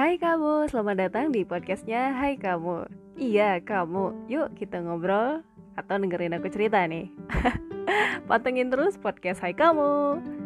Hai kamu, selamat datang di podcastnya Hai Kamu. Iya kamu, yuk kita ngobrol atau dengerin aku cerita nih. Pantengin terus podcast Hai Kamu.